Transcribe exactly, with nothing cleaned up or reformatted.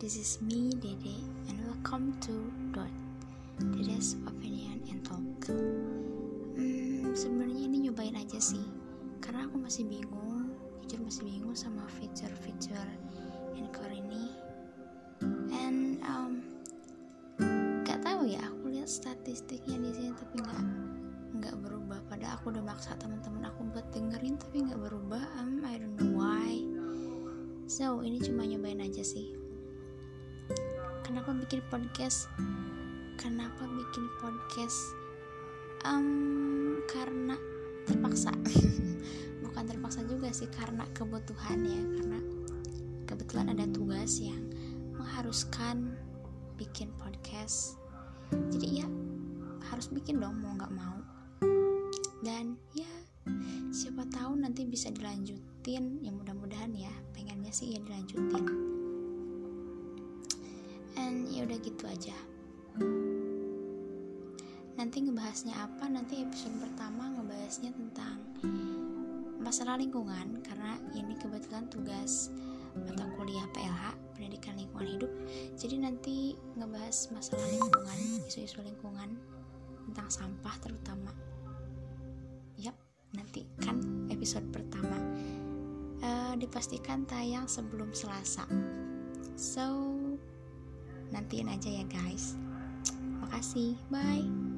this is me, Dede, and welcome to Dot, Dede's Opinion and Talk. Hmm, sebenarnya ini nyobain aja sih, karena aku masih bingung, jujur masih bingung sama fitur-fitur Anchor ini. And um, gak tahu ya, aku lihat statistiknya di sini tapi nggak nggak berubah. Padahal aku udah maksa teman-teman aku buat dengerin tapi nggak berubah. Um, I don't know why. So ini cuma nyobain aja sih. Kenapa bikin podcast? Kenapa bikin podcast? Um, karena terpaksa. Bukan terpaksa juga sih, karena kebutuhan ya. Karena kebetulan ada tugas yang mengharuskan bikin podcast. Jadi ya harus bikin dong, mau nggak mau. Dan ya siapa tahu nanti bisa dilanjutin. Ya mudah-mudahan ya, pengennya sih ya dilanjutin. And ya udah gitu aja. Nanti ngebahasnya apa? Nanti episode pertama ngebahasnya tentang masalah lingkungan, karena ini kebetulan tugas mata kuliah P L H, Pendidikan Lingkungan Hidup. Jadi nanti ngebahas masalah lingkungan, isu-isu lingkungan, tentang sampah terutama. Yap, nanti kan episode pertama uh, dipastikan tayang sebelum Selasa. So nantiin aja ya guys. Makasih, bye.